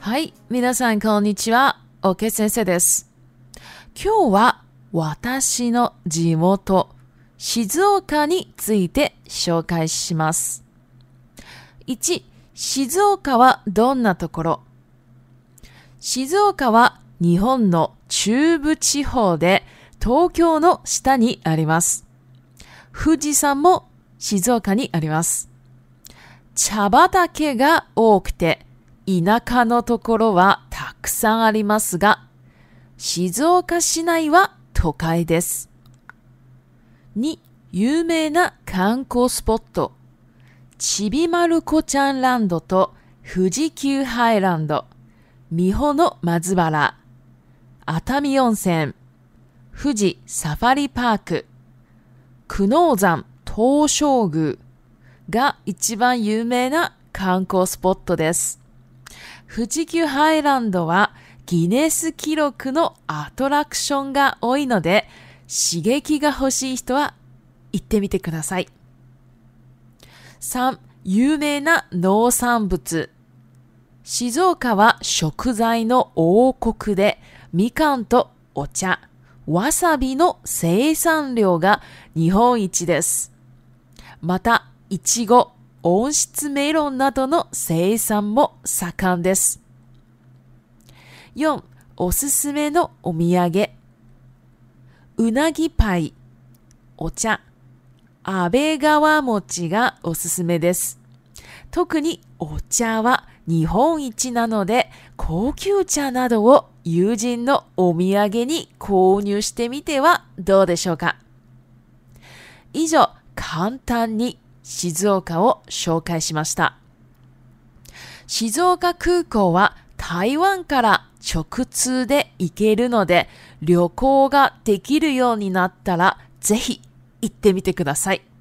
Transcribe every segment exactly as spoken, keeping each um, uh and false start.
はい、皆さんこんにちは、OK先生です。今日は私の地元、静岡について紹介します。いち、静岡はどんなところ？静岡は日本の中部地方で東京の下にあります。富士山も静岡にあります。茶畑が多くて、田舎のところはたくさんありますが、静岡市内は都会です。に、有名な観光スポット、ちびまる子ちゃんランドと富士急ハイランド、三保の松原、熱海温泉、富士サファリパーク、久能山東照宮が一番有名な観光スポットです。富士急ハイランドはギネス記録のアトラクションが多いので、刺激が欲しい人は行ってみてください。さん、有名な農産物。静岡は食材の王国で、みかんとお茶、わさびの生産量が日本一です。また、いちご、温室メロンなどの生産も盛んです。よん、おすすめのお土産。うなぎパイ、お茶、安倍川餅がおすすめです。特にお茶は日本一なので、高級茶などを友人のお土産に購入してみてはどうでしょうか。以上、簡単に静岡を紹介しました。静岡空港は台湾から直通で行けるので、旅行ができるようになったらぜひ行ってみてください。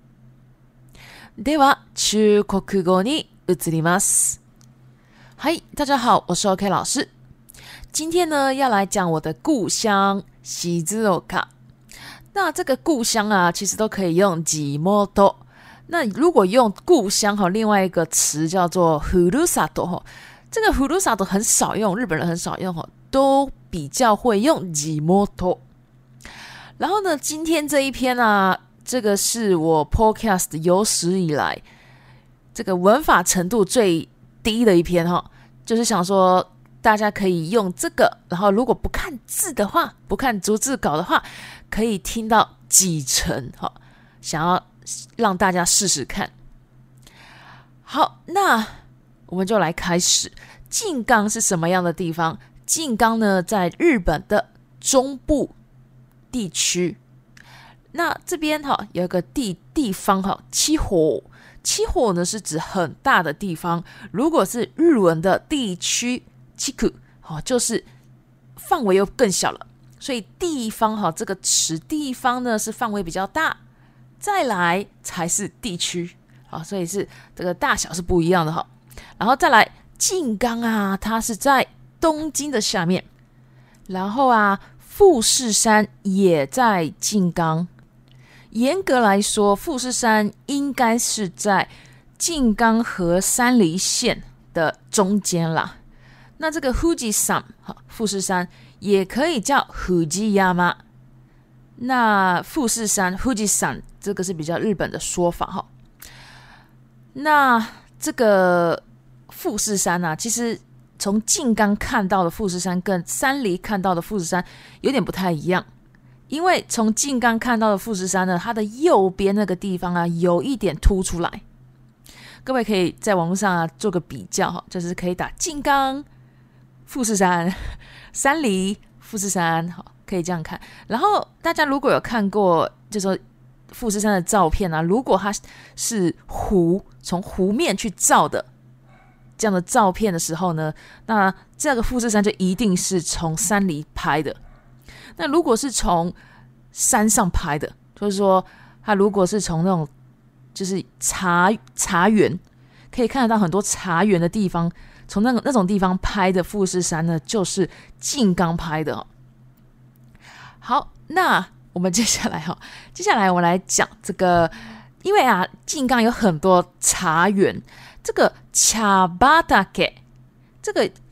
では、中国語に移ります。嗨，大家好，我是 OK 老师。今天呢，要来讲我的故乡静岡。那这个故乡啊，其实都可以用地元。那如果用故乡哈，另外一个词叫做ふるさと哈，这个ふるさと很少用，日本人很少用哈，都比较会用地元。然后呢，今天这一篇啊，这个是我 podcast 有史以来这个文法程度最低的一篇哈，就是想说大家可以用这个，然后如果不看字的话，不看逐字稿的话，可以听到几成哈，想要让大家试试看。好，那我们就来开始。静冈是什么样的地方？静冈呢，在日本的中部地区。那这边哈有一个地地方哈，七火。七火呢是指很大的地方，如果是日文的地区，地区哦，就是范围又更小了。所以地方哈这个词，地方呢是范围比较大，再来才是地区，好，所以是这个大小是不一样的哈。然后再来静冈啊，它是在东京的下面，然后啊富士山也在静冈。严格来说，富士山应该是在静冈和山梨县的中间啦。那这个富士山，富士山也可以叫富士山。那富士山，富士山这个是比较日本的说法哈。那这个富士山啊，其实从静冈看到的富士山跟山梨看到的富士山有点不太一样。因为从静冈看到的富士山呢，它的右边那个地方啊，有一点凸出来。各位可以在网络上啊做个比较，就是可以打静冈、富士山、山梨、富士山，可以这样看。然后大家如果有看过，就是说富士山的照片啊，如果它是湖，从湖面去照的这样的照片的时候呢，那这个富士山就一定是从山梨拍的。那如果是从山上拍的，就是说它如果是从那种就是茶茶园，可以看得到很多茶园的地方，从那种那种地方拍的富士山呢，就是静冈拍的哦。好，那我们接下来哈，接下来我来讲这个，因为啊，静冈有很多茶园，这个茶畑，这个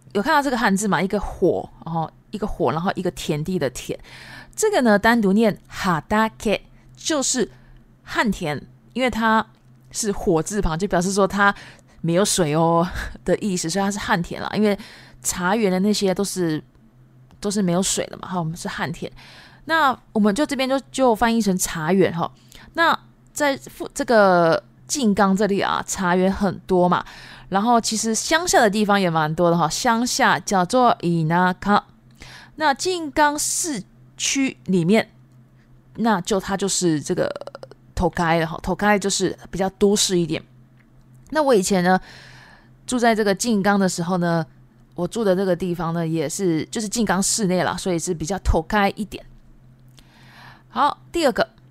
有看到这个汉字嘛？一个火，然后一个火，然后一个田地的田。这个呢，单独念哈达 K， 就是旱田，因为它是火字旁，就表示说它没有水哦的意思，所以它是旱田啦。因为茶园的那些都是都是没有水的嘛，好，我们是旱田。那我们就这边就就翻译成茶园哈。那在这个静冈这里啊，茶园很多嘛，然后其实乡下的地方也蛮多的哈。乡下叫做伊那卡，那静冈市区里面，那就它就是这个都会了哈。都会就是比较都市一点。那我以前呢住在这个静冈的时候呢，我住的这个地方呢也是就是静冈市内啦，所以是比较都会一点。好，第二个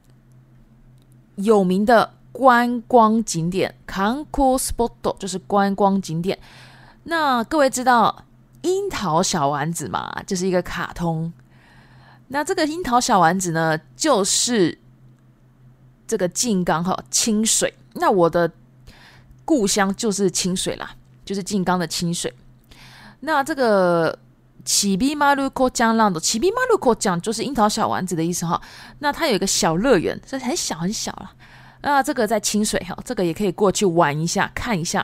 有名的观光景点 Kankou Spot 就是观光景点。那各位知道樱桃小丸子嘛，就是一个卡通。那这个樱桃小丸子呢，就是这个静冈哈清水。那我的故乡就是清水啦，就是静冈的清水。那这个起比马路口江浪的起比马路口江就是樱桃小丸子的意思哈。那它有一个小乐园，这很小很小啦。那这个在清水哈，这个也可以过去玩一下看一下。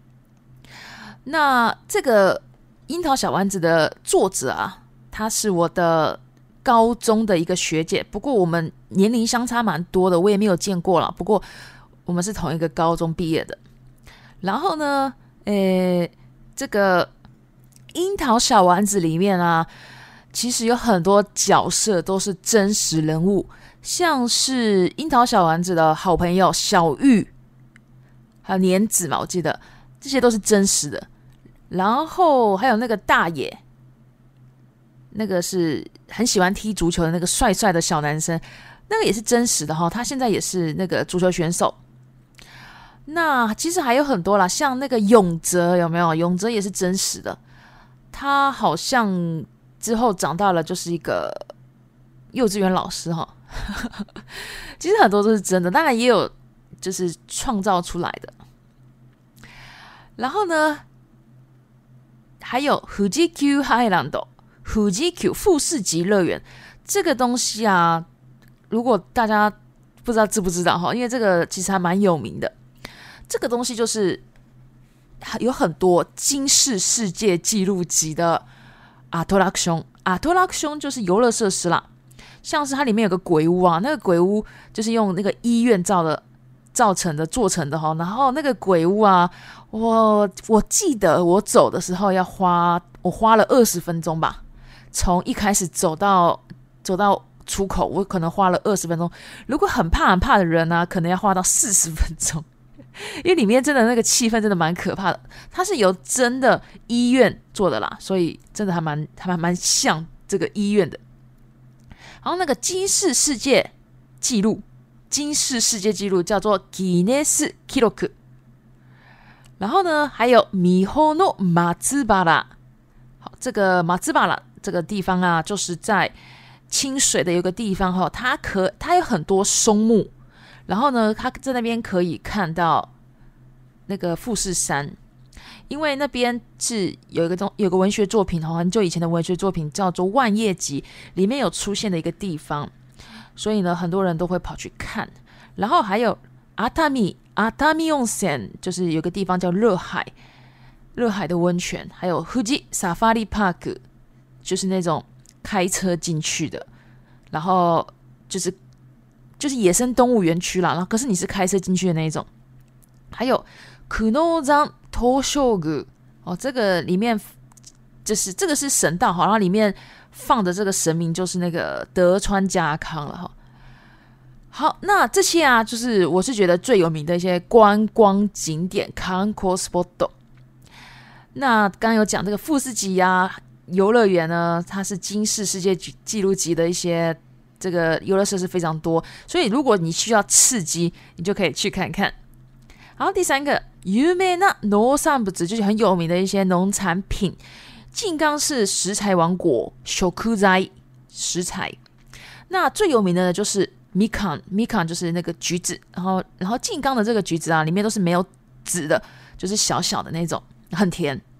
那这个樱桃小丸子的作者啊，他是我的高中的一个学姐，不过我们年龄相差蛮多的，我也没有见过了。不过我们是同一个高中毕业的。然后呢，诶，这个樱桃小丸子里面啊，其实有很多角色都是真实人物，像是樱桃小丸子的好朋友小玉，还有年子嘛，我记得这些都是真实的。然后还有那个大野，那个是很喜欢踢足球的那个帅帅的小男生，那个也是真实的哈，他现在也是那个足球选手。那其实还有很多啦，像那个永泽有没有？永泽也是真实的，他好像之后长大了就是一个幼稚园老师哈。其实很多都是真的，当然也有就是创造出来的。然后呢，还有富士急ハイランド、富士急富士急乐园这个东西啊，如果大家不知道知不知道哈，因为这个其实还蛮有名的。这个东西就是有很多金氏世界纪录级的アトラクション，アトラクション就是游乐设施啦。像是它里面有个鬼屋啊，那个鬼屋就是用那个医院造的造成的做成的哈。然后那个鬼屋啊，我我记得我走的时候要花我花了二十分钟吧，从一开始走到走到出口，我可能花了二十分钟。如果很怕很怕的人啊，可能要花到四十分钟。因为里面真的那个气氛真的蛮可怕的，它是由真的医院做的啦，所以真的还蛮还蛮像这个医院的。然后那个金氏世界纪录，金氏世界纪录叫做ギネス記録。然后呢，还有ミホの松原。好，这个松原这个地方啊，就是在清水的有个地方哈，它可它有很多松木。然后呢，他在那边可以看到那个富士山，因为那边是有一个有个文学作品，很久以前的文学作品叫做《万叶集》，里面有出现的一个地方，所以呢，很多人都会跑去看。然后还有阿塔米阿塔米温泉，就是有个地方叫热海，热海的温泉，还有富士 Safari Park， 就是那种开车进去的，然后就是就是野生动物园区啦，然后可是你是开车进去的那一种。还有久能山東照宮哦，这个里面就是这个是神道，然后里面放的这个神明就是那个德川家康了哈。好，那这些啊，就是我是觉得最有名的一些观光景点 Kankou Spot。那刚刚有讲这个富士急啊游乐园呢，它是金氏世界纪录级的一些这个游乐设施非常多，所以如果你需要刺激，你就可以去看看。然后第三个，有名な農産物就是很有名的一些农产品。静冈市食材王国，食材食材。那最有名的呢就是みかん，みかん就是那个橘子，然后然后静冈的这个橘子啊，里面都是没有籽的，就是小小的那种，很甜。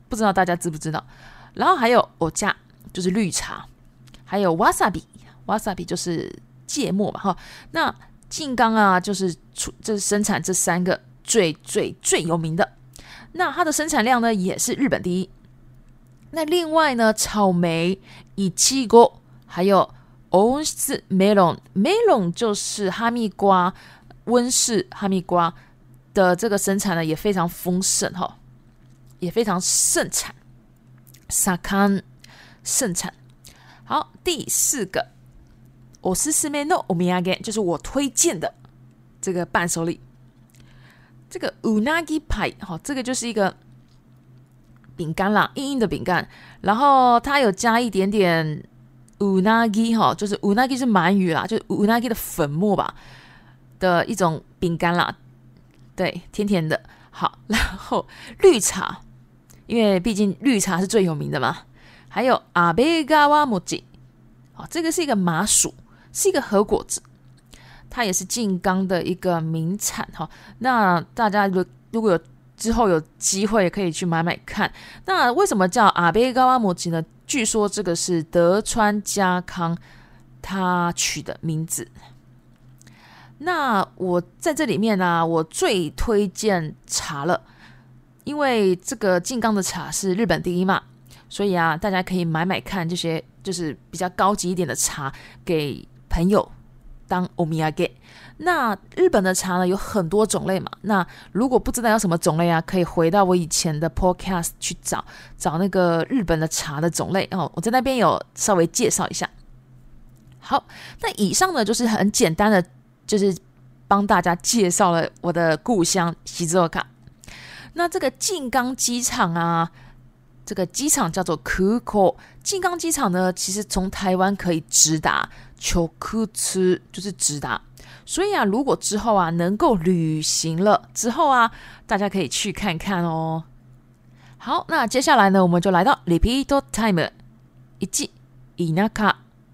不知道大家知不知道。然后还有お茶，就是绿茶，还有 wasabi， wasabi 就是芥末嘛哈。那静冈啊，就是出这是生产这三个最最最有名的。那它的生产量呢也是日本第一。那另外呢，草莓、いちご，还有温室 melon， melon 就是哈密瓜，温室哈密瓜的这个生产呢也非常丰盛哈，也非常盛产。盛ん盛产。好，第四个，おすすめのお土産，就是我推荐的这个伴手礼。这个うなぎパイ，好，这个就是一个饼干啦，硬硬的饼干，然后它有加一点点うなぎ哈，就是うなぎ是鳗鱼啦，就是うなぎ的粉末吧的一种饼干啦，对，甜甜的。好，然后绿茶，因为毕竟绿茶是最有名的嘛。还有阿贝嘎瓦莫吉，好，这个是一个麻薯，是一个和果子，它也是静冈的一个名产哈。那大家如果有之后有机会可以去买买看。那为什么叫阿贝嘎瓦莫吉呢？据说这个是德川家康他取的名字。那我在这里面呢、啊，我最推荐茶了，因为这个静冈的茶是日本第一嘛，所以啊，大家可以买买看这些就是比较高级一点的茶给朋友当お土産。那日本的茶呢有很多种类嘛，那如果不知道有什么种类啊，可以回到我以前的 podcast 去找找那个日本的茶的种类哦，我在那边有稍微介绍一下。好，那以上呢就是很简单的，就是帮大家介绍了我的故乡静岡。那这个静冈机场啊，这个机场叫做空港。静冈机场呢，其实从台湾可以直达直通，就是直达。所以啊，如果之后啊能够旅行了之后啊，大家可以去看看哦。好，那接下来呢，我们就来到 repeat time。一、田舎、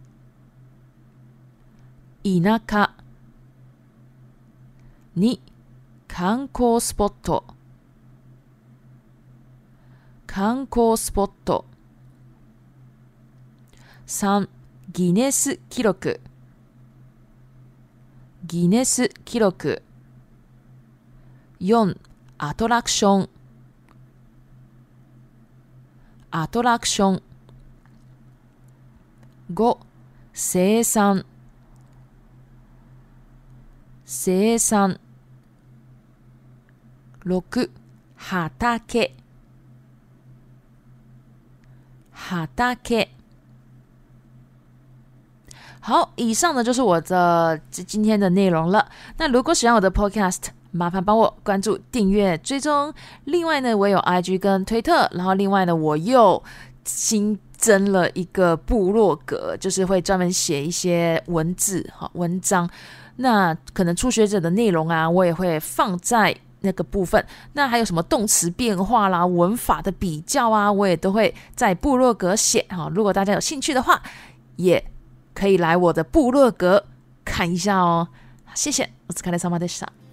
田舎。二、観光スポット、観光スポット。三、ギネス記録、ギネス記録。四、アトラクション、アトラクション。五、生産、生産。六、畑、畑。好，以上呢就是我的今天的内容了。那如果喜欢我的 podcast， 麻烦帮我关注、订阅、追踪。另外呢，我有 I G 跟推特，然后另外呢，我又新增了一个部落格，就是会专门写一些文字、文章。那可能初学者的内容啊，我也会放在那个部分。那还有什么动词变化啦、文法的比较啊，我也都会在部落格写。如果大家有兴趣的话，也可以来我的部落格看一下哦。谢谢，お疲れ様でした。